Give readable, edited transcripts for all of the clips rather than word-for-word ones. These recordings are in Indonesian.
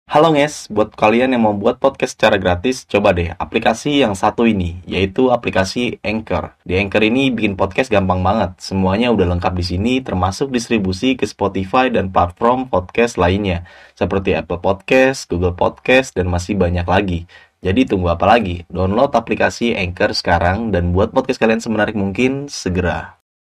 Halo guys, buat kalian yang mau buat podcast secara gratis, coba deh aplikasi yang satu ini, yaitu aplikasi Anchor. Di Anchor ini bikin podcast gampang banget. Semuanya udah lengkap di sini, termasuk distribusi ke Spotify dan platform podcast lainnya, seperti Apple Podcast, Google Podcast, dan masih banyak lagi. Jadi tunggu apa lagi? Download aplikasi Anchor sekarang dan buat podcast kalian semenarik mungkin segera.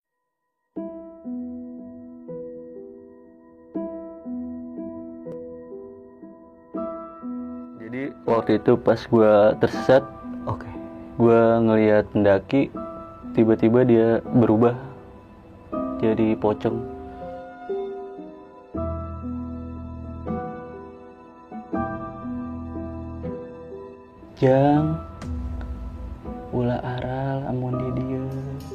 Jadi waktu itu pas gue tersesat, gue ngelihat pendaki, tiba-tiba dia berubah jadi pocong. Jang ulah aral amun di dieu,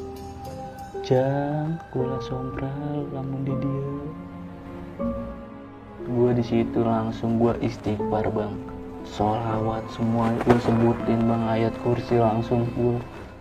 jang ulah sompral lamun di dieu. Gue di situ langsung gue istighfar bang, sholawat semua gue sebutin bang, ayat kursi langsung gue.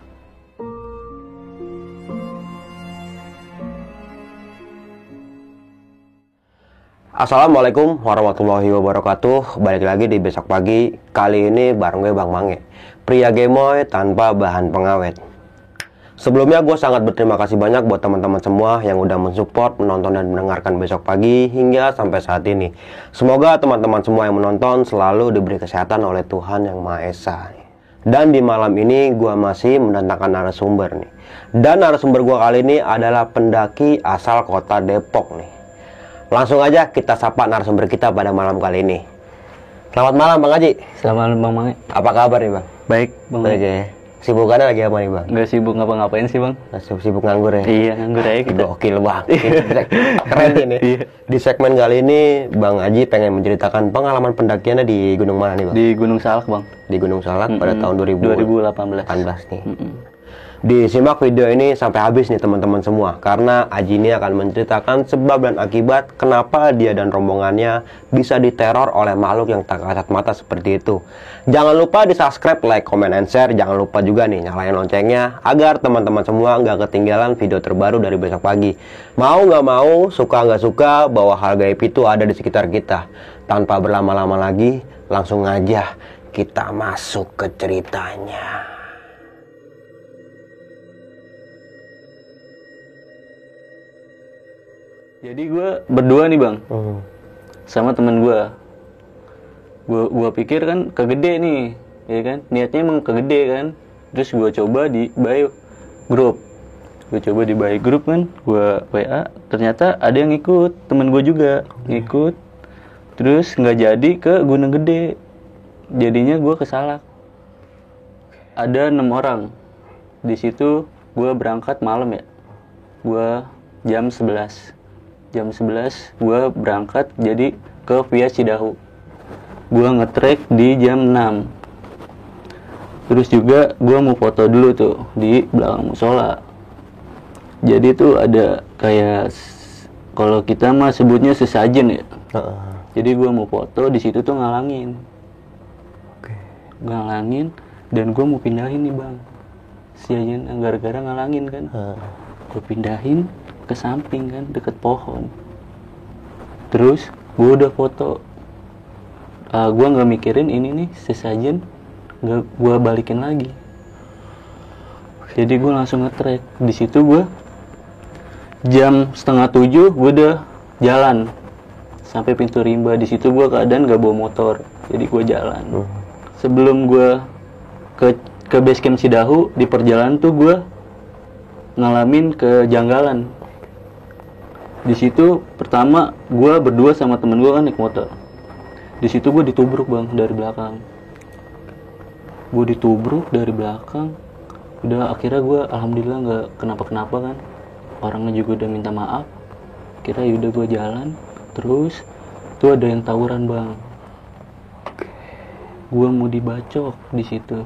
Assalamualaikum warahmatullahi wabarakatuh. Balik lagi di Besok Pagi. Kali ini bareng gue Bang Mange, pria gemoy tanpa bahan pengawet. Sebelumnya gue sangat berterima kasih banyak buat teman-teman semua yang udah mensupport, menonton dan mendengarkan Besok Pagi hingga sampai saat ini. Semoga teman-teman semua yang menonton selalu diberi kesehatan oleh Tuhan Yang Maha Esa. Dan di malam ini gue masih mendatangkan narasumber nih. Dan narasumber gue kali ini adalah pendaki asal kota Depok nih. Langsung aja kita sapa narasumber kita pada malam kali ini. Selamat malam Bang Haji. Selamat malam Bang Mange. Apa kabar nih Bang? Baik Bang Mange. Oke. Sibukannya lagi apa nih Bang? Nggak sibuk ngapa-ngapain sih Bang? Sibuk nganggur ya? Iya nganggur aja kita. Gokil Bang. Keren ini. Iya. Di segmen kali ini Bang Haji pengen menceritakan pengalaman pendakiannya di gunung mana nih Bang? Di Gunung Salak Bang. Di Gunung Salak pada tahun 2018 nih. Disimak video ini sampai habis nih teman-teman semua, karena Aji ini akan menceritakan sebab dan akibat kenapa dia dan rombongannya bisa diteror oleh makhluk yang tak kasat mata seperti itu. Jangan lupa di subscribe, like, comment, and share. Jangan lupa juga nih nyalain loncengnya agar teman-teman semua nggak ketinggalan video terbaru dari Besok Pagi. Mau nggak mau, suka nggak suka, bahwa hal gaib itu ada di sekitar kita. Tanpa berlama-lama lagi, langsung aja kita masuk ke ceritanya. Jadi gue berdua nih Bang, sama temen gue. Gue pikir kan kegede nih, ya kan? Niatnya emang kegede kan. Terus gue coba di bio group. Gue coba di bio group kan, gue WA. Ternyata ada yang ikut, temen gue juga ngikut. Terus nggak jadi ke Gunung Gede. Jadinya gue ke Salak. Ada 6 orang. Di situ gue berangkat malam ya. Gue jam 11 gue berangkat jadi ke Via Cidahu. Gue nge-trek di jam 6. Terus juga gue mau foto dulu tuh di belakang musola. Jadi tuh ada kayak, kalau kita mah sebutnya sesajen ya. Jadi gue mau foto, di situ tuh ngalangin. Ngalangin, dan gue mau pindahin nih Bang. Sesajen gara-gara ngalangin kan. Gue pindahin ke samping kan, deket pohon. Terus gue udah foto, gue nggak mikirin ini nih sesajen, nggak gue balikin lagi. Jadi gue langsung nge-trek. Di situ gue jam 6:30 gue udah jalan sampai pintu rimba. Di situ gue keadaan nggak bawa motor, jadi gue jalan. Sebelum gue ke base camp Cidahu, di perjalanan tuh gue ngalamin kejanggalan. Di situ pertama gue berdua sama temen gue kan naik motor. Di situ gue ditubruk Bang dari belakang. Udah akhirnya gue alhamdulillah nggak kenapa-kenapa kan. Orangnya juga udah minta maaf. Akhirnya yaudah gue jalan. Terus tuh ada yang tawuran Bang. Gue mau dibacok di situ.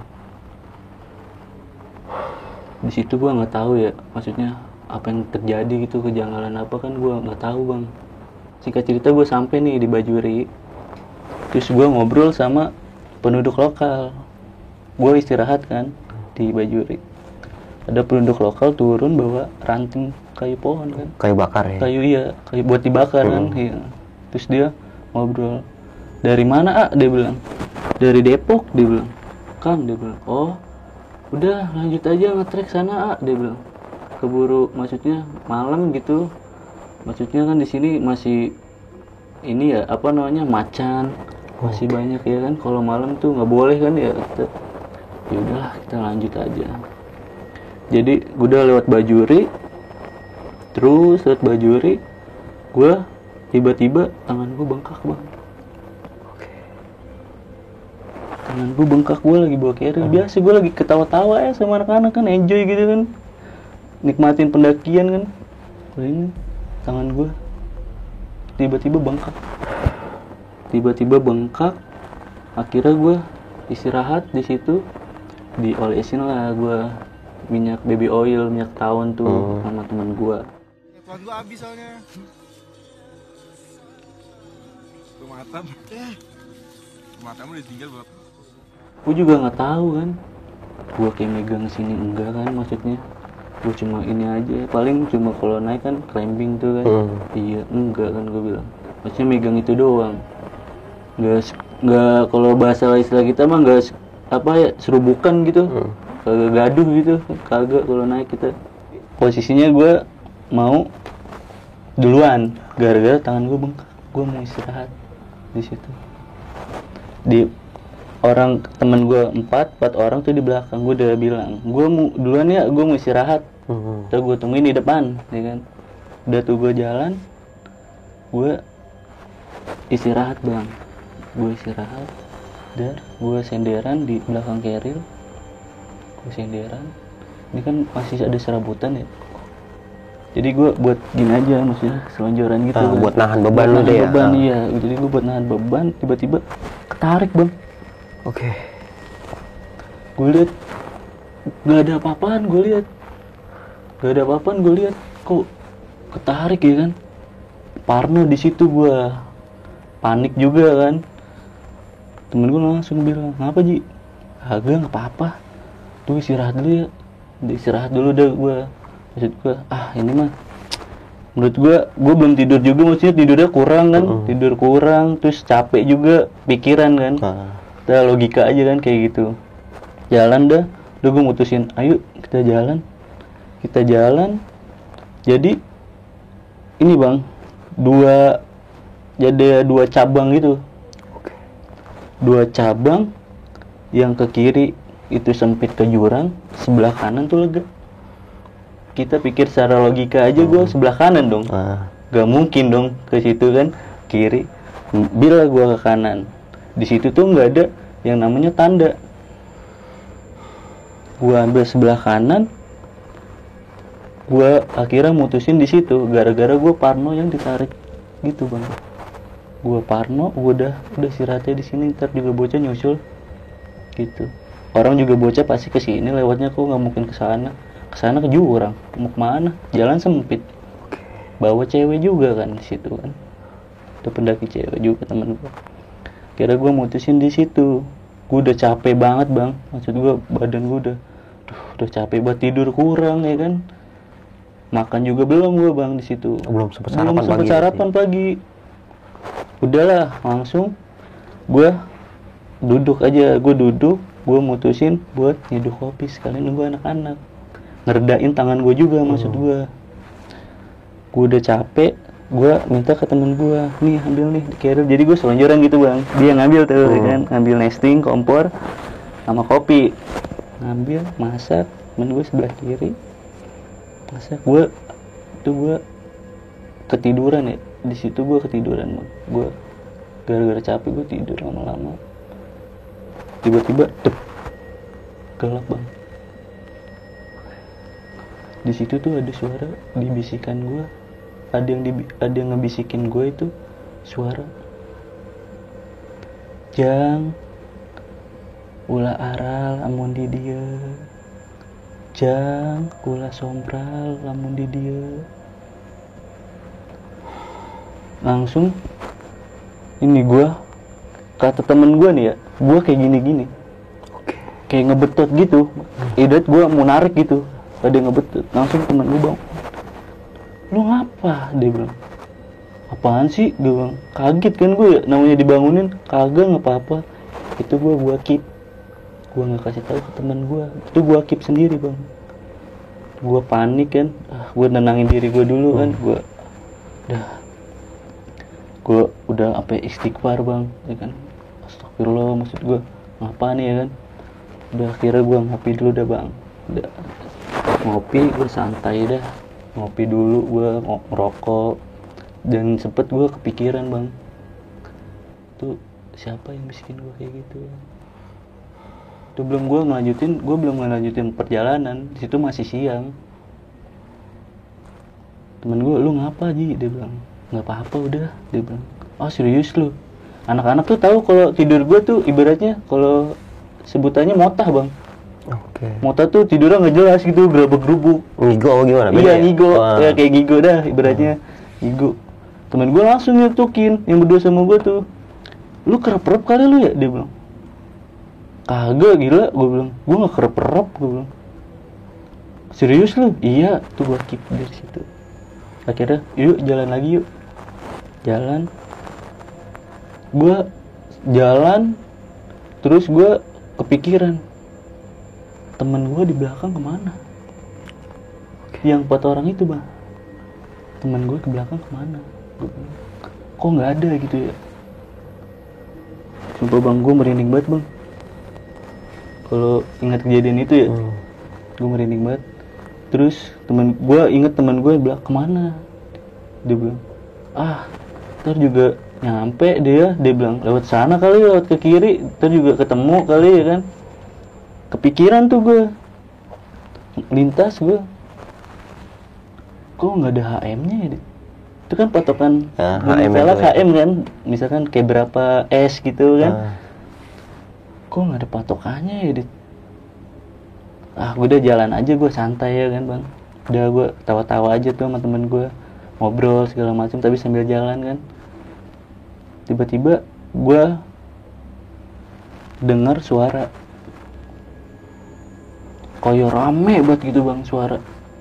Di situ gue nggak tahu ya, maksudnya apa yang terjadi gitu, kejanggalan apa kan gue nggak tahu Bang. Singkat cerita gue sampai nih di Bajuri. Terus gue ngobrol sama penduduk lokal. Gue istirahat kan di Bajuri. Ada penduduk lokal turun bawa ranting kayu pohon kan. Kayu bakar ya? Kayu, iya, kayu buat dibakar kan. Iya. Terus dia ngobrol, Dari mana dia bilang. Dari Depok dia bilang. Kang dia bilang. Oh udah lanjut aja nge-trek sana dia bilang. Keburu maksudnya malam gitu. Maksudnya kan di sini masih ini ya apa namanya macan masih banyak ya kan. Kalau malam tuh nggak boleh kan ya. Ya udahlah kita lanjut aja. Jadi gue udah lewat Bajuri. Terus lewat Bajuri, gue tiba-tiba tangan gue bengkak bang. Tangan gue bengkak, gue lagi bawa carrier. Biasa gue lagi ketawa-tawa ya sama anak-anak kan, enjoy gitu kan, nikmatin pendakian kan. Ini tangan gue tiba-tiba bengkak. Akhirnya gue istirahat di situ, diolesin lah gue minyak baby oil, minyak tawon tuh sama teman gue. Tuan gua habis soalnya. Matamu ditinggal buat. Gue juga nggak tahu kan. Gue kayak megang sini enggak kan maksudnya. Gue cuma ini aja. Paling cuma kalau naik kan climbing tuh kan. Iya enggak kan gue bilang. Maksudnya megang itu doang. Nggak kalau bahasa istilah kita mah nggak apa ya serubukan gitu. Kagak gaduh gitu. Kagak kalau naik kita. Posisinya gue mau duluan gara-gara tangan gue bengkak. Gue mau istirahat di situ. Di orang temen gue empat orang tuh di belakang. Gue udah bilang gue mau duluan ya, gue mau istirahat. Terus gue tungguin di depan ya kan. Udah tuh gue jalan, gue istirahat bang. Gue istirahat dan gue senderan di belakang keril. Gue senderan ini kan masih ada serabutan ya. Jadi gue buat gini aja maksudnya selonjoran gitu kan. Buat nahan beban lu deh ya. Iya. Jadi gue buat nahan beban, tiba-tiba ketarik bang. Oke. Gue lihat nggak ada apa-apaan, gue lihat kok ketarik ya kan. Parno di situ gue panik juga kan. Temen gue langsung bilang, ngapa Ji? Kagak, nggak apa-apa. Tuh istirahat dulu ya. Istirahat dulu dah gue. Maksud gue, ini mah menurut gue belum tidur juga, maksudnya tidurnya kurang kan. Tidur kurang, terus capek juga pikiran kan. Udah logika aja kan kayak gitu. Jalan dah, udah gue mutusin, ayo kita jalan. Jadi ini bang, jadi dua cabang gitu. Dua cabang yang ke kiri itu sempit ke jurang, sebelah kanan tuh lega. Kita pikir secara logika aja gue sebelah kanan dong. Gak mungkin dong ke situ kan kiri. Bila gue ke kanan, di situ tuh nggak ada yang namanya tanda. Gue ambil sebelah kanan, gue akhirnya mutusin di situ gara-gara gue parno yang ditarik gitu bang. Gue parno, gue udah istirahatnya di sini, ntar juga bocah nyusul gitu. Orang juga bocah pasti ke sini lewatnya, kok nggak mungkin ke sana ke jurang. Mau kemana? Jalan sempit. Bawa cewek juga kan di situ kan. Ada pendaki cewek juga temen gue. Kira gue mutusin di situ. Gue udah capek banget bang. Maksud gue badan gue udah capek banget, tidur kurang ya kan. Makan juga belum gue bang di situ. Belum sempat sarapan pagi. Udahlah langsung gue duduk aja. Gue mutusin buat nyeduh kopi sekalian nunggu anak-anak. Ngeredain tangan gue juga maksud gue udah capek. Gue minta ke temen gue, nih ambil nih di carrier. Jadi gue selonjoran gitu bang, dia ngambil tuh kan, ngambil nesting, kompor sama kopi, ngambil masak. Temen gue sebelah kiri masak. Gue ketiduran ya di situ. Gue ketiduran bang. Gue gara-gara capek gue tidur lama-lama. Tiba-tiba gelap bang. Di situ tuh ada suara dibisikan gue. Ada yang ngebisikin gue itu suara, Jang ulah aral amun di dia, Jang ulah sompral amun di dia. Langsung ini gue kata temen gue nih ya, gue kayak gini-gini, kayak ngebetot gitu. Ibarat gue mau narik gitu, ada yang ngebetot. Langsung temen gue bang, lu ngapa? Dia bilang, apaan sih, gue bilang. Kaget kan gue ya, namanya dibangunin, kagak nggak apa-apa. Itu gue keep, gue nggak kasih tahu ke teman gue, itu gue keep sendiri bang. Gue panik kan, gue nenangin diri gue dulu kan, gue udah sampai istighfar bang, ya kan, astagfirullah, maksud gue ngapa nih ya kan. Udah akhirnya gue ngopi dulu dah bang, udah ngopi, gue santai dah, ngopi dulu, gue ngerokok, dan sempet gue kepikiran bang, tuh siapa yang bisikin gue kayak gitu. Itu gue belum ngelanjutin perjalanan, di situ masih siang. Temen gue, lu ngapa Ji? Dia bilang, nggak apa-apa udah. Dia bilang, oh serius lu? Anak-anak tuh tahu kalau tidur gue tuh ibaratnya kalau sebutannya motah bang. Oke. Motah tuh tidurnya nggak jelas gitu, gerabak-gerubuk. Ngigo apa gimana? Beda Iya ya? ngigo, Wah. ya kayak ngigo dah ibaratnya. Ngigo. Temen gue langsung nyetukin yang berdua sama gue tuh, lu kerep-kerep kali lu ya? Dia bilang, kagak gila, gue bilang, gue nggak kerep-kerep, gue bilang. Serius lu? Iya, tuh gue keep dari situ. Akhirnya, yuk jalan lagi yuk. Jalan. Gue jalan, terus gue kepikiran, temen gue di belakang kemana? Yang 4 orang itu bang, temen gue ke belakang kemana? Gua bilang, kok nggak ada gitu ya? Sumpah bang, gue merinding banget bang. Kalau ingat kejadian itu ya, gue merinding banget. Terus inget teman gue bilang kemana? Dia bilang, ntar juga nyampe dia bilang lewat sana kali, lewat ke kiri, ntar juga ketemu kali ya kan. Kepikiran tuh gue, lintas gue, kok nggak ada HM-nya ya? Itu kan patokan salah HM kan, misalkan kayak berapa S gitu kan. Kok nggak ada patokannya ya? Gue udah jalan aja, gue santai ya kan bang. Udah gue tawa-tawa aja tuh sama temen gue, ngobrol segala macam tapi sambil jalan kan. Tiba-tiba gue dengar suara kayak rame banget gitu bang, suara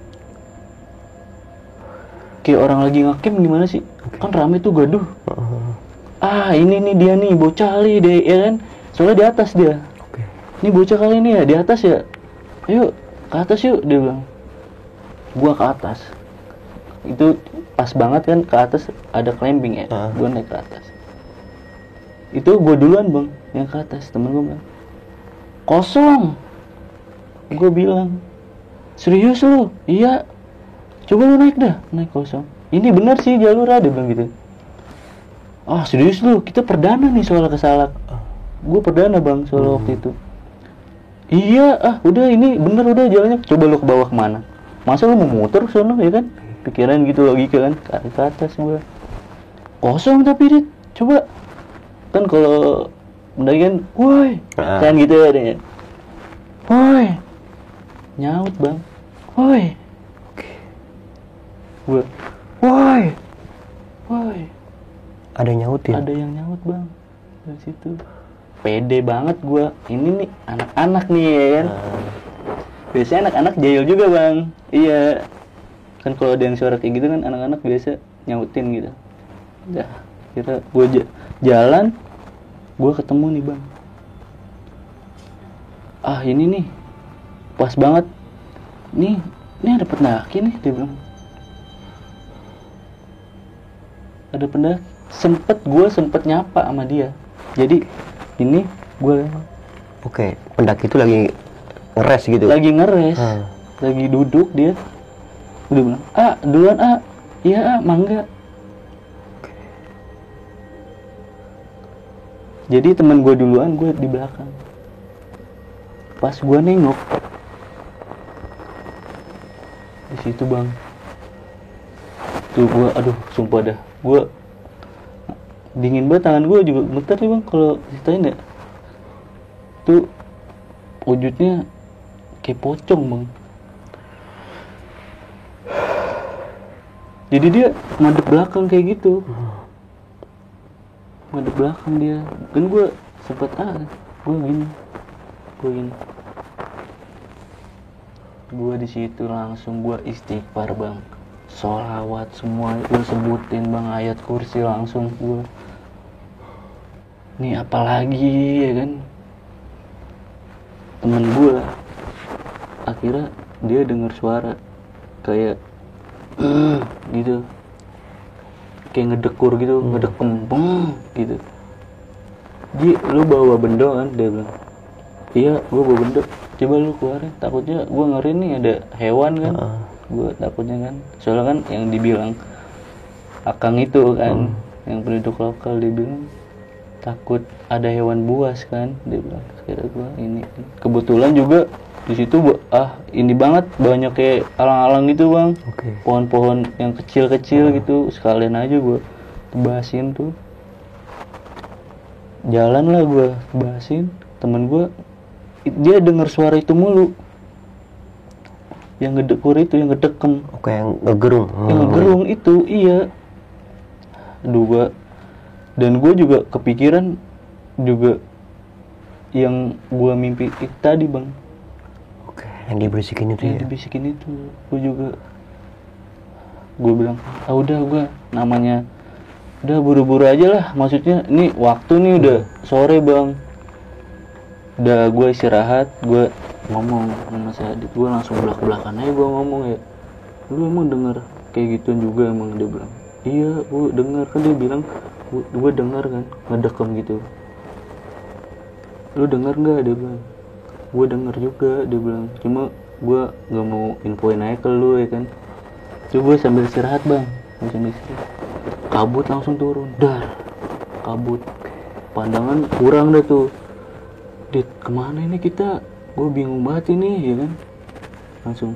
kayak orang lagi ngakem gimana sih. Kan rame tuh, gaduh. Ini nih dia nih, bocah kali deh ya kan, soalnya di atas dia. Ini bocah kali nih ya, di atas ya, ayo ke atas yuk, dia bilang. Gua ke atas, itu pas banget kan, ke atas ada climbing ya. Gua naik ke atas, itu gua duluan bang yang ke atas. Temen gua bilang, kosong. Gua bilang, serius lu? Iya, coba lu naik dah. Naik, kosong. Ini bener sih jalur, dia bilang gitu. Serius lu? Kita perdana nih soal kesalak. Gue perdana bang soal waktu itu. Iya, udah ini bener, udah jalannya. Coba lu ke bawah kemana? Masa lu mau muter sono ya kan? Pikiran gitu, logika kan. Ke atas gue. Kosong tapi Dit. Coba. Kan kalau mendaki kan, woi. Kan gitu ya adanya. Woi. Nyaut bang. Woi. Gue, woi. Ada yang nyautin? Ada yang nyaut bang dari situ. Pede banget gue. Ini nih anak-anak nih ya kan. Biasanya anak-anak jahil juga bang. Iya. Kan kalau ada yang suara kayak gitu kan anak-anak biasa nyautin gitu. Udah, kira gue jalan, gue ketemu nih bang. Ini nih pas banget. Nih ada pendaki nih, dia bilang. Ada pendaki. Gue sempet nyapa sama dia. Jadi ini gue. Oke, pendaki itu lagi ngeres gitu. Lagi ngeres. Lagi duduk dia. Udah bilang, duluan iya mangga. Jadi teman gue duluan, gue di belakang. Pas gue nengok, di situ bang, tuh gue, aduh sumpah dah, gue dingin banget, tangan gue juga gemeter nih bang kalau ceritain ya. Tuh wujudnya kayak pocong bang. Jadi dia madep belakang kayak gitu. Madep belakang dia. Kan gue sempet gue gini. Gue di situ langsung gue istighfar bang. sholawat semua gue sebutin bang, ayat kursi langsung gue. Nih apalagi ya kan, temen gue akhirnya dia dengar suara kayak gitu, kayak ngedekur gitu, ngedekem beng gitu. Ji, lu bawa benda kan? Dia bilang, iya gue bawa benda, coba lu keluarin, takutnya gue ngeri nih ada hewan kan. Gue takutnya kan, soalnya kan yang dibilang akang itu kan, yang penduduk lokal, dia bilang takut ada hewan buas kan, dia bilang. Kira gue ini kebetulan juga di situ ini banget, banyak kayak alang-alang gitu bang. Pohon-pohon yang kecil-kecil gitu, sekalian aja gue tebasin tuh. Jalan lah gue tebasin, temen gue dia dengar suara itu mulu, yang ngedekur itu, yang ngedekem. Oke, yang ngegerung. Yang ngegerung itu, iya. Aduh gue, dan gue juga kepikiran juga yang gue mimpi itu tadi bang. Oke, yang dibisikin itu yang dibisikin itu, gue juga, gue bilang, udah gue namanya, udah buru-buru aja lah, maksudnya ini waktu nih udah sore bang. Udah gue istirahat, gue ngomong sama si Adit, gue langsung belak-belakan aja gue ngomong ya, lu emang denger kayak gituan juga emang? Dia bilang, iya gue denger, kan dia bilang gue denger kan ngedekem gitu. Lu denger nggak? Dia bilang, gue denger juga, dia bilang, cuma gue nggak mau infoin aja ke lu ya kan. Coba sambil istirahat bang, sambil istirahat, kabut langsung turun, dar, kabut, pandangan kurang dah tuh. Dit, kemana ini kita? Gue bingung banget ini ya kan. Langsung,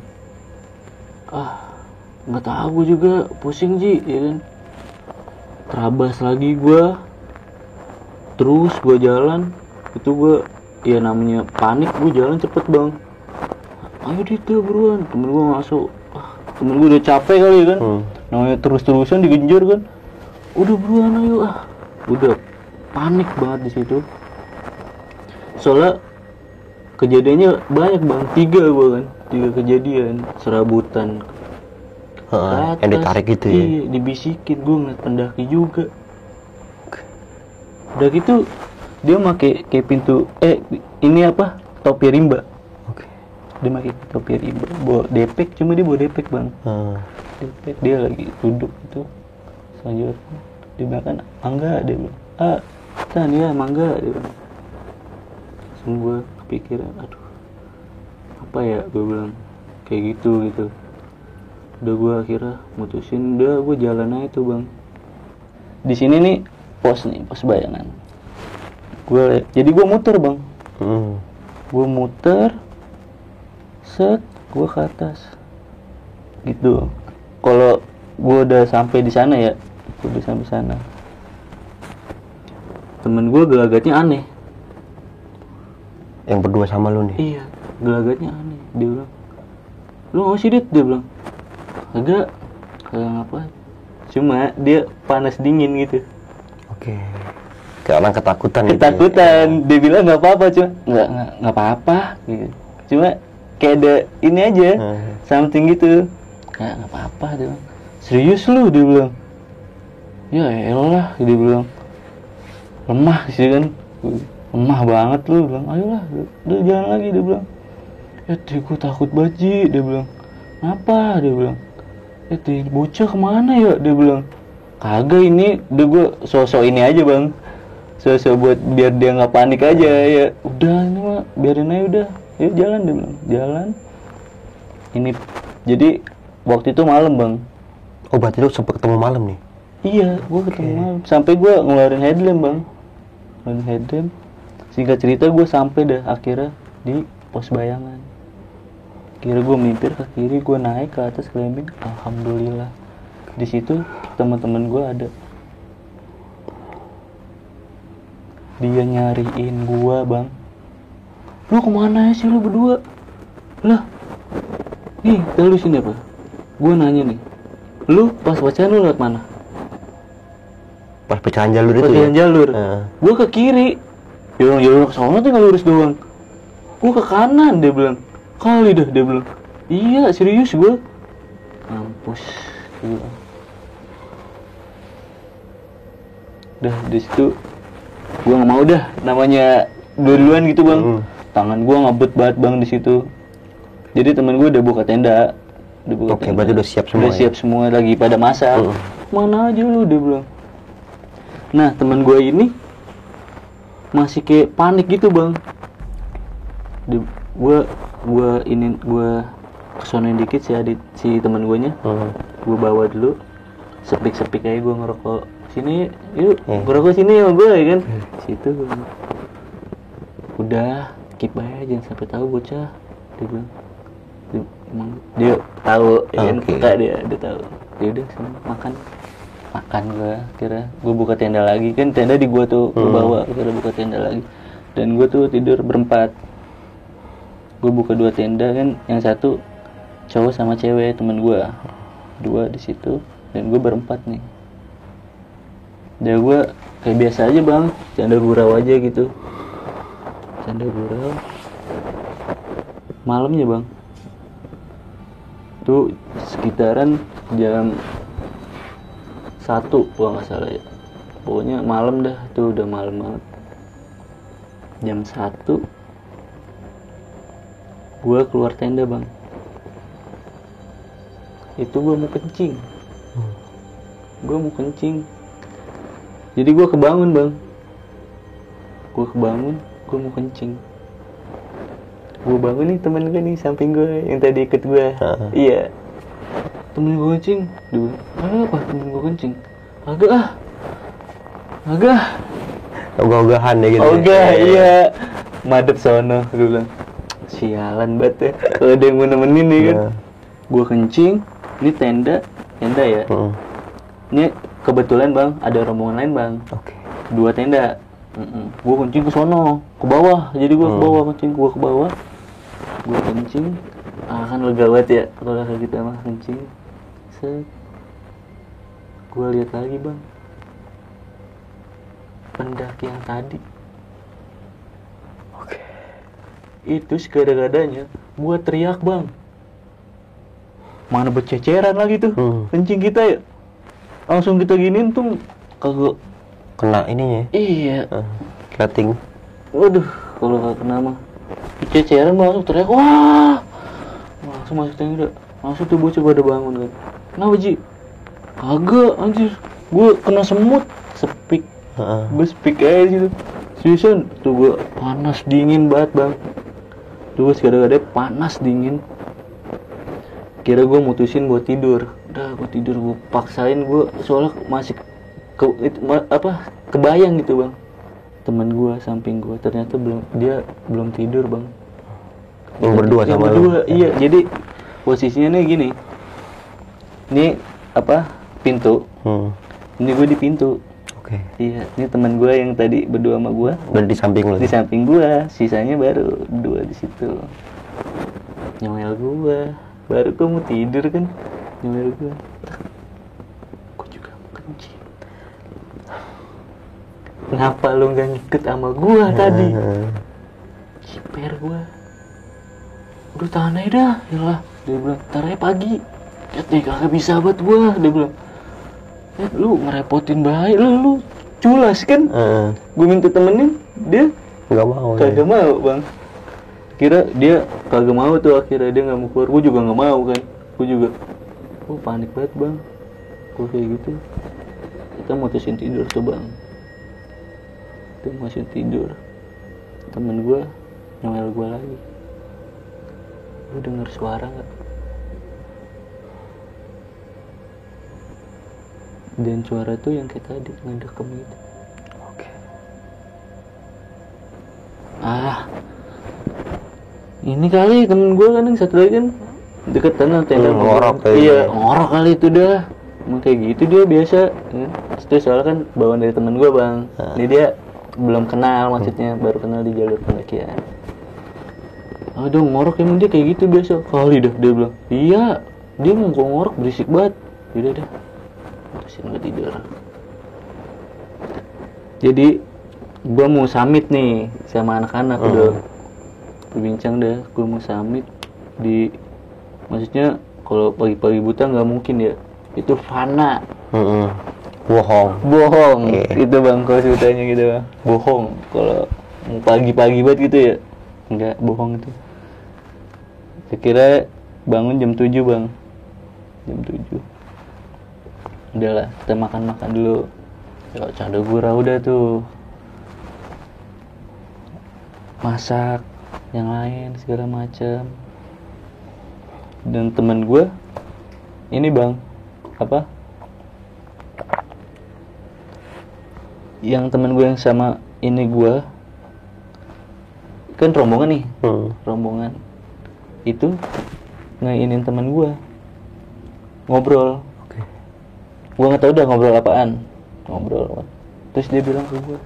nggak tahu gue juga, pusing Ji ya kan. Terabas lagi gue, terus gue jalan. Itu gue, ya namanya panik, gue jalan cepet bang. Ayo Dit, buruan. Temen gue masuk, temen gue udah capek kali ya kan. Namanya terus-terusan digenjar kan. Udah buruan ayo udah panik banget di situ. Soalnya kejadiannya banyak bang, 3 gue kan, 3 kejadian serabutan. Yang ditarik gitu ya? Iya, dibisikin, gue ngeliat pendaki juga. Udah gitu dia pakai kayak pintu, ini apa, topi rimba. Dia pakai topi rimba, bawa depek, cuma dia bawa depek bang. Depek, dia lagi duduk gitu selanjutnya dia bilang kan, mangga, dia bilang, kan ya mangga, dia bilang. Langsung gue kepikiran, aduh apa ya, gue bilang kayak gitu. Udah gue akhirnya mutusin, udah gue jalan aja tuh bang. Di sini nih pos bayangan. Jadi gue muter bang. Gue muter, set, gue ke atas. Gitu. Kalau gue udah sampai di sana ya, temen gue gelagatnya aneh. Yang berdua sama lu nih? Iya, gelagatnya aneh. Dia bilang, lu nggak sih Dit? Dia bilang, kagak ngapain. Cuma dia panas dingin gitu. Oke. Kayak orang ketakutan. Ketakutan. Gitu ya? Dia bilang nggak apa-apa, cuma nggak apa-apa. Gitu. Cuma kayak ada ini aja, something gitu. Nggak apa-apa, dia bilang. Serius lu? Dia bilang. Ya elah, dia bilang. Lemah sih kan. Lemah banget lu, bilang. Ayolah, udah jalan lagi, dia bilang. Gue takut banget Ji, dia bilang. Kenapa? Dia bilang. Bocah kemana ya? Dia bilang. Kagak, ini udah gue sosok ini aja bang, sosok buat biar dia nggak panik aja ya. Udah ini mah biarin aja udah, yuk jalan, dia bilang. Jalan. Ini jadi waktu itu malam bang. Oh berarti lu sempet ketemu malam nih? Iya, gue ketemu malam. Sampai gue ngeluarin headlamp bang, ngeluarin headlamp. Singkat cerita gue sampai dah akhirnya di pos bayangan. Kira gue melimpir ke kiri, gue naik ke atas climbing. Alhamdulillah. Di situ teman-teman gue ada. Dia nyariin gue bang. Lu kemana sih lu berdua? Lah, nih lu sini apa? Gue nanya nih. Lu pas pacaran lu lewat mana? Pas pecahan jalur itu pecahan ya? Jalur. Gue ke kiri. Jalan ke sana tinggal lurus doang. Gue ke kanan, dia bilang. Kali dah, dia bilang. Iya, serius gue. Mampus. Udah di situ gue nggak mau dah, namanya duluan gitu bang. Tangan gue ngebut banget bang di situ. Jadi temen gue udah buka tenda. Oke, berarti udah siap semua. Udah siap semua, lagi pada masak. Mana aja lu, dia bilang. Nah temen gue ini masih kayak panik gitu bang. Gue kesonoin dikit si temen gue nya. Gue bawa dulu, sepik aja gue ngerokok. Sini yuk, ngerokok sini sama gue ya kan. Situ gue udah keep aja, jangan sampai tahu bocah, dia bilang. Emang dia tahu ya kan, peka dia tahu. Dia udah makan gue buka tenda lagi kan, tenda di gue tuh gue bawa, kira buka tenda lagi, dan gue tuh tidur berempat. Gue buka 2 tenda kan, yang satu cowok sama cewek temen gue, 2 di situ, dan gue berempat nih. Dan gue kayak biasa aja bang, canda gurau aja gitu, canda gurau. Malamnya bang, tuh sekitaran jam 1 kalau nggak salah ya, pokoknya malam dah, itu udah malam banget. Jam 1 gue keluar tenda bang, itu gue mau kencing. Jadi gue kebangun bang, gue mau kencing. Gue bangun nih, temen gue nih samping gue yang tadi ikut gue. Iya, temen gue kencing. Dia bilang, apa temen gue kencing? Agak ogah-ogahan ya gitu. Ogah, iya. Madep sono, gue bilang. Sialan banget ya, kalau ada yang mau nemenin nih kan. Gue kencing, ini tenda ya. Ini kebetulan bang, ada rombongan lain bang. 2 tenda. Gue kencing ke sono, ke bawah. Jadi gue ke bawah kencing, gue kencing. Kan lega banget ya kalau kayak gitu mah kencing. Gue lihat lagi bang, pendaki yang tadi. Itu segada-gadanya gue teriak bang, mana berceceran lagi tuh kencing kita ya, langsung kita giniin tuh kagak kena ininya. Iya, Cutting. waduh, kalau gak kena mah berceceran, langsung teriak, wah, langsung masuk tenda. Langsung tuh bocah pada bangun kan. Kenapa Ji? Kagak anjir, gue kena semut, sepik. Gue sepik aja gitu. Seriusan, tuh gue panas dingin banget bang. Tuh segala-galanya panas dingin. Kira gue mutusin buat tidur. Udah gue tidur, gue paksain, gue soalnya masih kebayang gitu bang. Temen gue samping gue ternyata belum tidur bang. Yang berdua sama lu. Iya, jadi posisinya nih gini. Ini pintu. Ini gue di pintu. Iya, ini teman gue yang tadi berdua sama gue. Berada di samping lu. Di samping gue, sisanya baru 2 di situ. Nyomel gue, baru gue mau tidur kan, nyomel gue. Gue juga mau kencing. Kenapa lu nggak ngikut sama gue tadi? Ciper gue. Udah tahan aja dah, yalah. Dia bilang, ntar aja pagi. Kagak bisa buat gue, dia bilang. Lu ngerepotin baik lu culas kan. Gue minta temenin, dia kagak mau bang. Kira dia kagak mau tuh, akhirnya dia nggak mau keluar. Gue juga nggak mau kan, gue juga panik banget bang. Gue kayak gitu, kita mutusin tidur tuh bang. Kita mutusin tidur, temen gue nyomel gue lagi. Lu denger suara nggak? Dan suara tuh yang kayak tadi, ngedekem gitu. Ini kali temen gue kan yang satu lagi kan deket tanah tenda. Ngorok iya, ngorok kali itu dah. Emang kayak gitu dia biasa ya. Itu soalnya kan bawaan dari temen gue bang. Ini dia belum kenal, maksudnya baru kenal di jalur pendakian. Aduh, ngorok emang dia kayak gitu biasa. Kali dah dia bilang, iya, dia mau ngorok berisik banget. Yaudah dah, terusin gue tidur. Jadi gue mau summit nih sama anak-anak. Udah berbincang dah, gue mau summit di, maksudnya kalau pagi-pagi buta nggak mungkin ya, itu fana. Bohong. Iya. Itu bang kalau ceritanya gitu bang, bohong. Kalau pagi-pagi banget gitu ya, enggak, bohong itu. Saya kira bangun jam 7 bang, jam 7. Udahlah, kita makan dulu. Ya, canda gurau udah tuh, masak yang lain segala macam. Dan temen gue ini bang, apa, yang temen gue yang sama ini gue kan rombongan nih, rombongan itu ngainin temen gue ngobrol. Gue nggak tahu udah ngobrol apaan, terus dia bilang ke gue,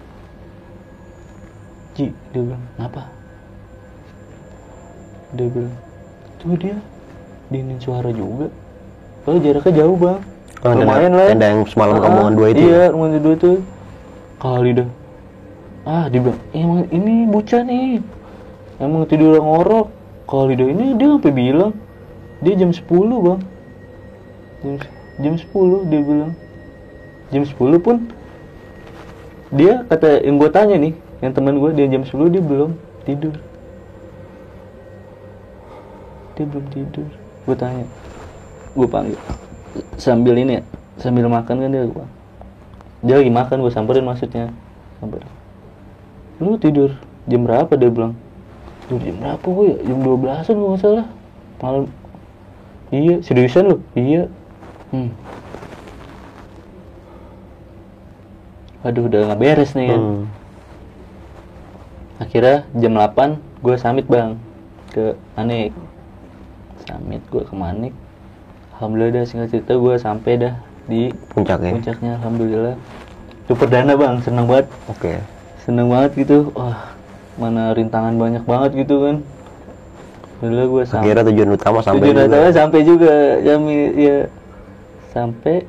Ji, dia bilang, kenapa? Dia bilang, tuh dia dinin suara juga. Kalau jaraknya jauh bang, lumayan lah. Tenda yang semalam rombongan 2 itu. Iya, rombongan 2 tuh. Kali dah. Dia bilang, emang ini bocah nih, emang tidur ngorok. Kali dah ini dia sampai bilang, dia jam 10 bang. Jam 10 dia bilang. Jam 10 pun dia kata yang gue tanya nih, yang teman gue, dia jam 10 dia belum tidur. Gue tanya, gue panggil sambil ini ya, sambil makan kan dia lagi makan, gue samperin maksudnya, lu tidur jam berapa? Dia bilang, tidur jam berapa gue ya, jam 12an gue nggak salah malam. Iya, seriusan lu? Iya. Aduh, udah nggak beres nih kan. Akhirnya jam 8 gue summit bang ke Manik. Gue ke Manik. Alhamdulillah dah, singkat cerita gue sampai dah di puncaknya. Alhamdulillah. Itu perdana bang, seneng banget. Seneng banget gitu. Wah, mana rintangan banyak banget gitu kan. Alhamdulillah gue sampai. Akhirnya tujuan utama sampai juga. Ya sampai.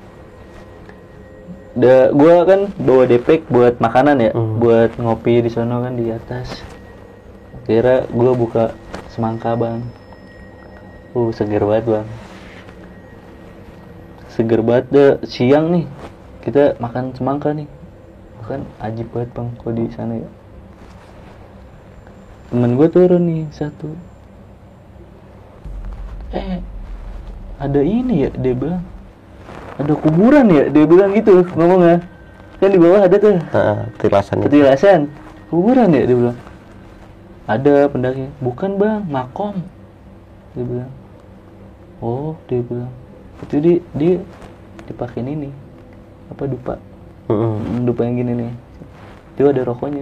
Gue kan bawa depek buat makanan ya, buat ngopi di sono kan di atas. Akhirnya gue buka semangka bang. Seger banget bang. Seger banget deh. Siang nih kita makan semangka nih, makan ajib banget bang kalau di sana ya. Temen gue turun nih satu, ada ini ya, dia bilang ada kuburan ya, dia bilang gitu ngomongnya. Kan di bawah ada tuh petilasan kuburan ya, dia bilang. Ada pendaki. Bukan bang, makom, dia bilang. Oh, dia bilang itu dia dipakein ini apa, dupa. Dupa yang gini nih, itu ada rokoknya.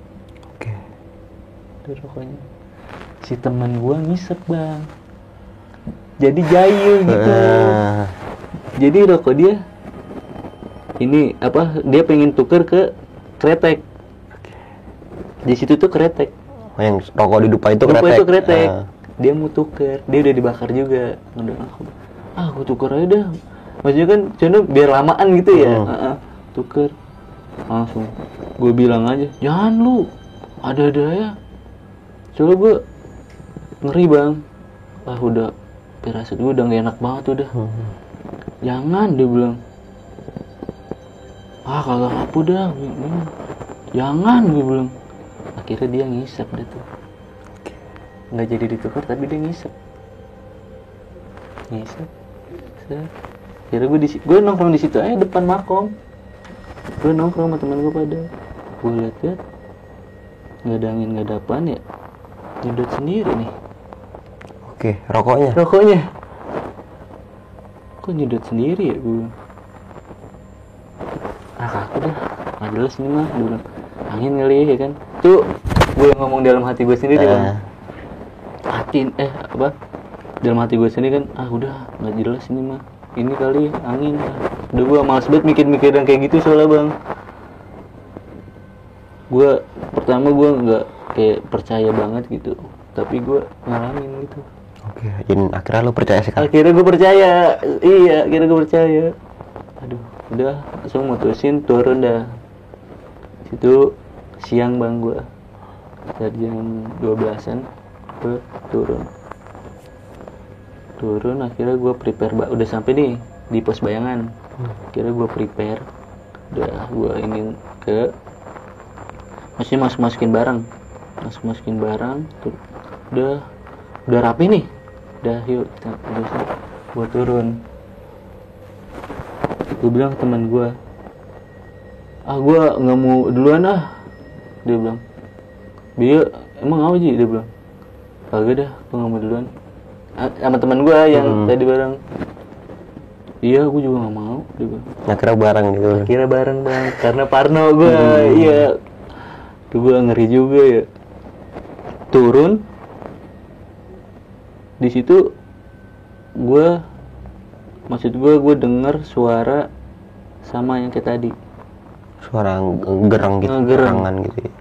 Ada rokoknya. Si teman gua ngisep bang, jadi jahil gitu. Jadi rokok dia ini apa, dia pengen tuker ke kretek. Di situ tuh kretek. Yang rokok di dupa itu kretek. Dia mau tuker, dia udah dibakar juga. Aku tuker aja dah. Maksudnya kan cuma biar lamaan gitu ya. Tuker. Langsung gue bilang aja, jangan lu, ada ya. Soalnya gue ngeri bang. Udah pirasat gue udah gak enak banget udah. Jangan, dia bilang. Kagak apa dah. Jangan, gue bilang. Akhirnya dia ngisep deh tuh. Nggak jadi ditukar tapi dia ngisep. Akhirnya gue nongkrong di situ aja depan makom. Gue nongkrong sama temen gue pada. Gue liat nggak ada angin, nggak ada apaan ya. Nyedot sendiri nih. Rokoknya. Kok nyedot sendiri ya gue? Aku dah nggak jelas nih mah. Gue bilang angin kali ya kan. Tuh gue ngomong dalam hati gue sendiri bang. Dalam hati gue sendiri kan, udah nggak jelas ini mah, ini kali angin. Udah gue malas banget mikir yang kayak gitu soalnya bang. Gue pertama gue nggak kayak percaya banget gitu, tapi gue ngalamin gitu. Jadi akhirnya lo percaya sih kan? Akhirnya gue percaya. Aduh, udah langsung mutusin turun dah. Situ siang bang, gue dari jam 12-an gue turun. Akhirnya gue prepare udah sampai nih di pos bayangan. Kira gue prepare, udah gue ingin ke maksudnya masukin barang, tuh, udah rapi nih, udah yuk kita gue turun. Gue bilang ke teman gue, gue nggak mau duluan dia bilang. Dia emang apa sih, dia bilang kagak dah, gue nggak mau duluan. Sama teman gue yang tadi bareng, iya gue juga nggak mau, dia bilang. Akhirnya bareng gitu. Akhirnya bareng bang, karena parno gue. Iya, tuh gue ngeri juga ya. Turun di situ, gue denger suara sama yang kayak tadi, Suara gerang gitu, gerangan gitu ya.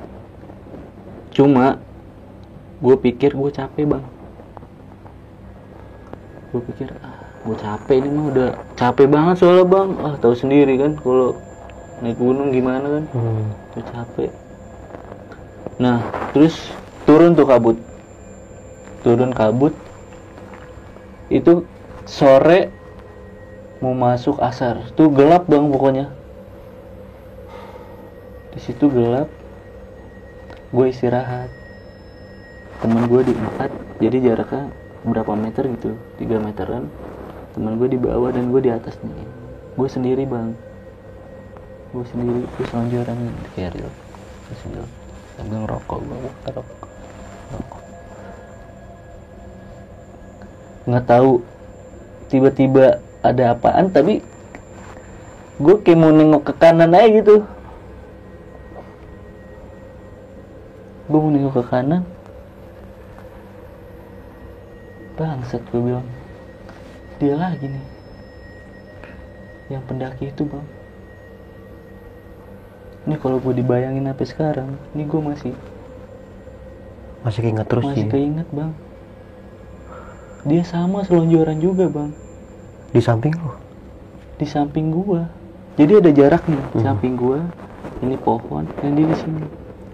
Cuma gue pikir gue capek bang. Gue pikir gue capek, ini mah udah capek banget soalnya bang. Tahu sendiri kan kalau naik gunung gimana kan. Gue capek. Nah terus turun kabut itu sore mau masuk asar tuh, gelap bang pokoknya. Di situ gelap, gue istirahat. Temen gue di 4, jadi jaraknya berapa meter gitu, 3 meteran. Temen gue di bawah dan gue di atas nih. Gue sendiri bang, gue selonjoran di keril sambil ngerokok. Nggak tahu tiba-tiba ada apaan, tapi gue kayak mau nengok ke kanan aja gitu. Gue mau nengok ke kanan, bangsat, gue bilang dia lagi nih yang pendaki itu bang. Ini kalau gue dibayangin sampai sekarang, ini gue masih keinget terus sih. Masih keinget bang. Dia sama selonjoran juga bang. Di samping lo? Di samping gua. Jadi ada jarak nih, samping gua, ini pohon, dan dia di sini.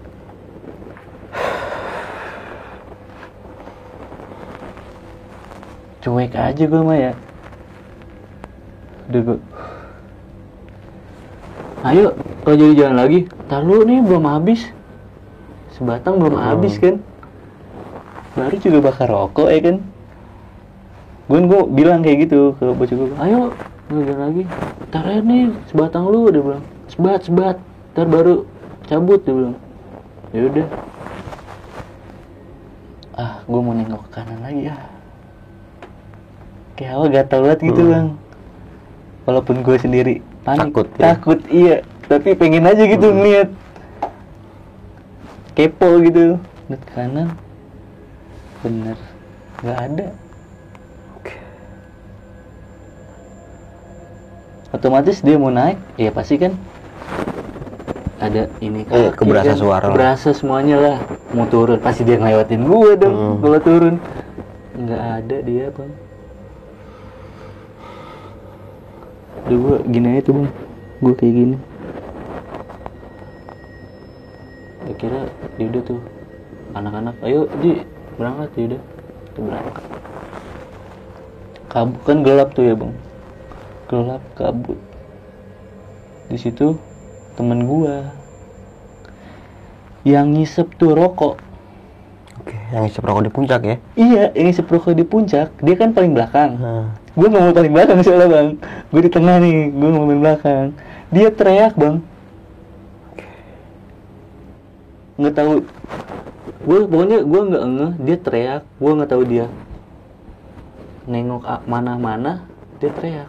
Cuek aja gua mah ya. Udah gua, ayo, kalau jadi jalan lagi. Ntar lu nih belum habis. Sebatang belum habis kan. Baru juga bakar rokok ya kan. Gue bilang kayak gitu ke bocah gue, ayo jalan lagi, ntar aja nih sebatang lu, dia bilang, sebat, ntar baru cabut, dia bilang. Ya udah, gue mau nengok ke kanan lagi kayak awal gatal banget gitu bang. Walaupun gue sendiri panik, takut iya, tapi pengen aja gitu ngeliat, kepo gitu, lihat kanan, bener nggak ada. Otomatis dia mau naik, ya pasti kan ada ini kan, keberasa suara, keberasa semuanya lah. Mau turun pasti dia ngelewatin gue dong. Kalau turun nggak ada dia bang. Udah gue gini aja tuh bang, gue kayak gini. Kira dia udah tuh anak-anak, ayo di berangkat, ya udah kita berangkat. Kabut kan gelap tuh ya bang. Gelap kabut. Di situ temen gua yang ngisep tuh rokok. Oke, yang ngisep rokok di puncak ya? Iya, yang ngisep rokok di puncak. Dia kan paling belakang. Gua nggak mau paling belakang soalnya bang. Gua di tengah nih, gua nggak mau paling belakang. Dia teriak bang. Nggak tahu. Pokoknya gua nggak ngeh. Dia teriak. Gua nggak tahu dia nengok mana-mana. Dia teriak.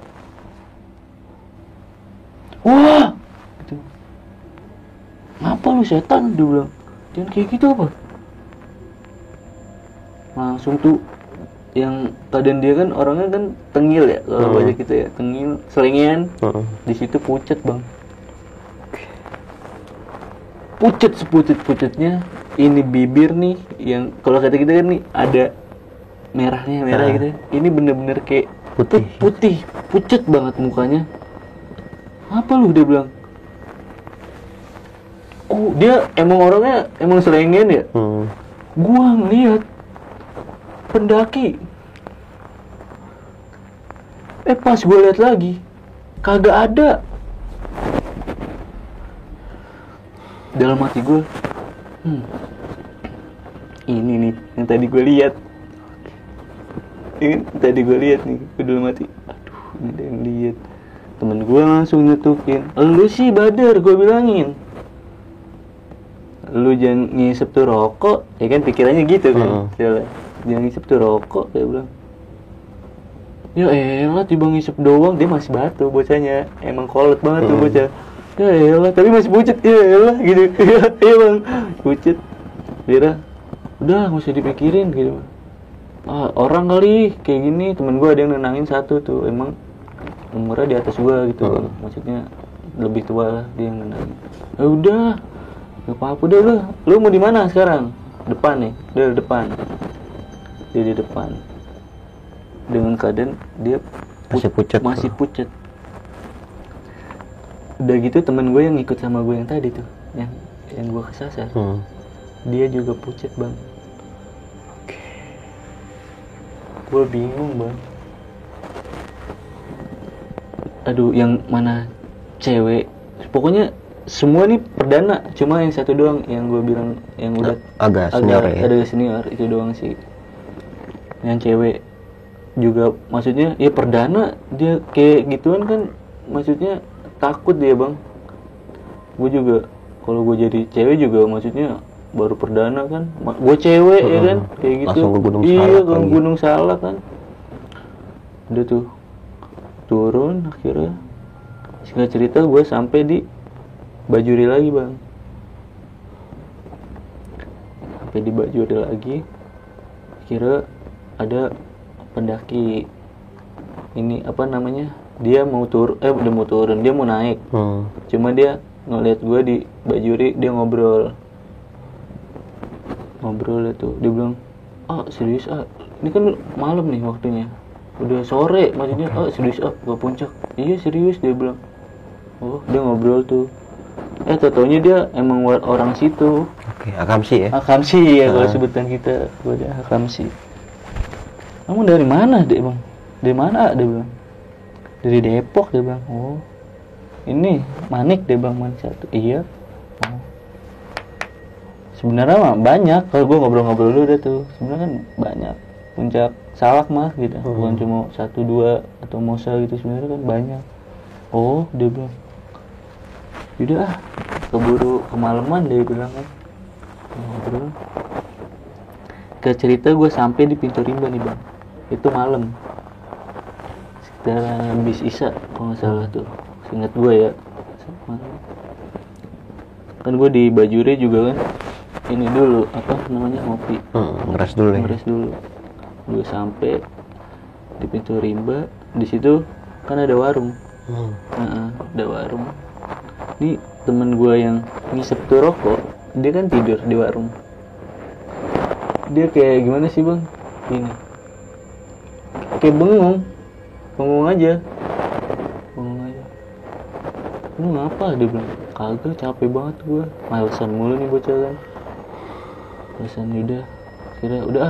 Wah, gitu. Ngapa lu setan? Dia bilang, jangan kayak gitu apa? Langsung tuh, yang keadaan dia kan orangnya kan tengil ya, kalau banyak gitu ya, tengil, selengean. Di situ pucet bang. Pucet sepucet-pucetnya. Ini bibir nih, yang kalau kata kita kan nih ada merahnya, merah gitu. Ini bener-bener kayak putih, pucet banget mukanya. Apa lu, dia bilang. Dia emang orangnya emang selengen ya. Gua ngeliat pendaki Pas gue lihat lagi, kagak ada. Dalam hati gue, ini nih yang tadi gue lihat. Ini tadi gue lihat nih, gue dalam hati, aduh, ini ada yang lihat. Temen gue langsung nyetukin, lu sih Badar, gue bilangin, lu jangan ngisep tuh rokok, ya kan pikirannya gitu kan. Jangan ngisep tuh rokok, dia bilang. Ya elah, tiba ngisep doang, dia masih batu bocahnya, emang kolot banget tuh bocah. Ya elah, tapi masih pucet, ya elah gitu. Iya bang, pucet. Dia udah nggak usah dipikirin gitu. Orang kali kayak gini. Temen gue ada yang nenangin satu tuh, emang umurnya di atas gue gitu. Maksudnya lebih tua lah, dia yang nenangin. Ya udah, gak apa-apa deh lu mau di mana sekarang? Depan nih, dia di depan. Dia di depan. Dengan keadaan dia masih pucet. Udah gitu temen gue yang ikut sama gue yang tadi tuh, yang gue kesasar, dia juga pucet bang. Gue bingung bang. Aduh, yang mana cewek? Pokoknya semua nih perdana, cuma yang satu doang yang gue bilang yang udah agak senior itu doang sih. Yang cewek juga maksudnya ya perdana, dia kayak gituan kan, maksudnya takut dia bang. Gue juga kalau gue jadi cewek juga maksudnya baru perdana kan, gue cewek ya kan, kayak gitu. Iya, ke Gunung Salak kan. Udah tuh turun, akhirnya singkat cerita gue sampai di Bajuri lagi bang. Sampai di Bajuri lagi, akhirnya ada pendaki ini apa namanya, dia mau udah mau turun, dia mau naik. Cuma dia ngeliat gue di Bajuri, dia ngobrol tuh, dia bilang, serius ini kan malam nih waktunya, udah sore maksudnya. Serius ke puncak? Iya serius, dia bilang. Dia ngobrol tuh, taunya dia emang orang situ. Akamsi ya kalau sebutan kita, gue dia Akamsi. Kamu dari mana dek bang? Dari mana dia bilang? Dari Depok, dia bilang. Ini Manik, dia bilang. Manik satu. Iya. Sebenarnya mah banyak, kalau gue ngobrol-ngobrol dulu dah tuh, sebenarnya kan banyak puncak Salak mah gitu, bukan cuma 1-2 atau Mosa gitu, sebenarnya kan banyak. Dia bilang, yaudah keburu kemalaman, dia bilang kan. Ngobrol. Ke cerita gue sampai di Pintu Rimba nih bang, itu malam sekitar habis Isya kalau nggak salah tuh, seingat gue ya. Kan gue di Bajuri juga kan, ini dulu apa namanya, ngopi, ngeres dulu. Gue sampai di Pintu Rimba, di situ kan ada warung. Ada warung. Ini temen gue yang ngisep tuh rokok, dia kan tidur di warung. Dia kayak gimana sih bang? Ini kayak bengong aja. Lu ngapa? Dia bilang, kagak, capek banget gue, malesan mulu nih bocah kan. Malesan. Udah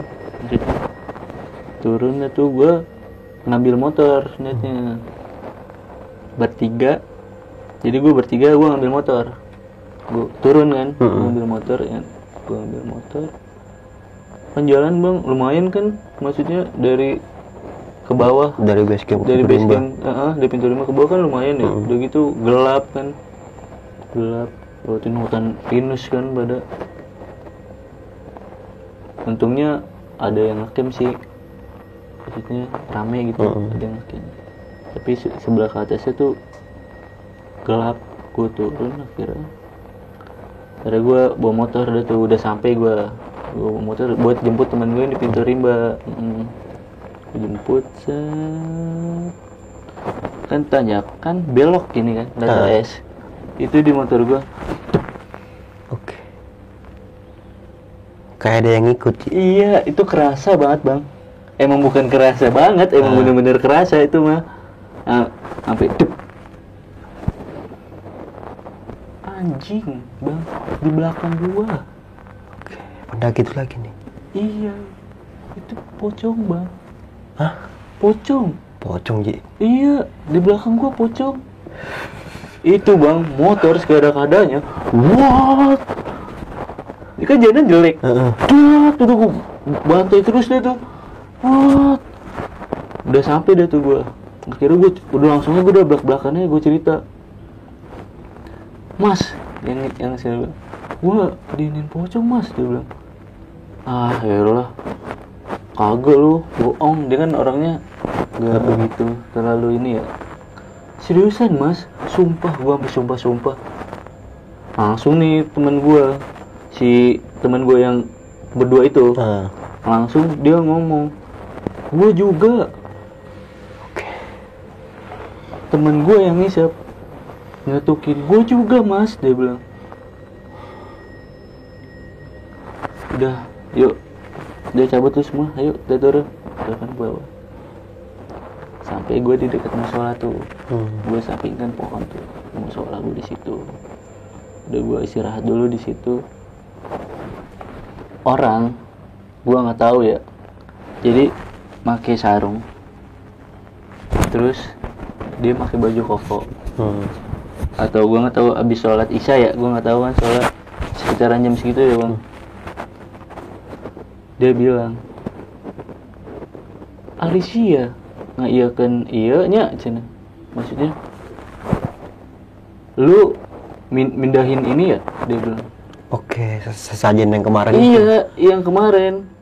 turun dah tuh, gue ngambil motor netnya bertiga. Jadi gue bertiga, gue ngambil motor, gue turun kan, ngambil motor ya. Gue ngambil motor kan, jalan bang lumayan kan, maksudnya dari ke bawah, dari base camp dari Pintu Rimba ke bawah kan lumayan ya. Udah gitu gelap, lewatin hutan pinus kan pada. Untungnya ada yang ngecamp sih, maksudnya rame gitu, ada yang ngecamp. Tapi sebelah ke atasnya tuh gelap. Gue turun akhirnya gue bawa motor, udah sampai gue bawa motor buat jemput teman gue di Pintu Rimba. Jemput kan, tanjakan belok gini kan, es itu di motor gue. Kayak ada yang ngikut. Iya, itu kerasa banget bang. Emang bukan kerasa banget, emang bener-bener kerasa itu mah. Sampai anjing bang, di belakang gua. Pendaki itu lagi nih. Iya, itu pocong bang. Pocong Pocong, Ji. Iya, di belakang gua pocong. Itu bang, motor sekada-kadanya. What? Ini kan jalan jelek. Tuh gua bantai terus deh tuh. What? Udah sampai deh tuh gua. Akhirnya gua udah langsungnya gua udah belak-belakannya gua cerita. Mas, yang saya bilang, gua diinin pocong mas, dia bilang. Ah, yaelah. Kagak lu, bohong. Dia kan orangnya gak begitu terlalu ini ya. Seriusan mas, sumpah gua sampai sumpah. Langsung nih teman gua, si teman gua yang berdua itu, langsung dia ngomong, gua juga. Temen gua yang ngisap ngetukin, gua juga mas, dia bilang. Udah, yuk, dia cabut tuh semua, ayo kita turun ke bawah. Sampai gue di dekat musola tuh, gue sampingkan pohon tuh, musola gue di situ. Udah gue istirahat dulu di situ. Orang, gue nggak tahu ya. Jadi pakai sarung, terus dia pakai baju koko. Atau gue nggak tahu abis sholat isya ya, gue nggak tahu kan sholat sekitaran jam segitu ya bang. Dia bilang, Alicia ngaiyakeun ieu nya cenah. Maksudnya lu mindahin ini ya, dia bilang. Oke, sesajen yang kemarin. Iya, yang kemarin.